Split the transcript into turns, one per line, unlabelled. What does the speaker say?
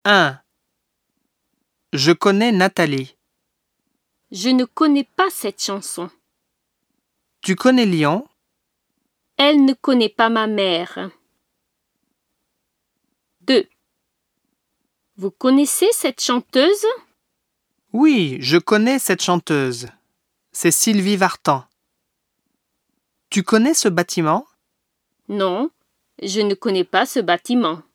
1. Je connais Nathalie.
Je ne connais pas cette chanson.
Tu connais Lyon?
Elle ne connaît pas ma mère. 2. Vous connaissez cette chanteuse?
Oui, je connais cette chanteuse. C'est Sylvie Vartan. Tu connais ce bâtiment?
Non, je ne connais pas ce bâtiment.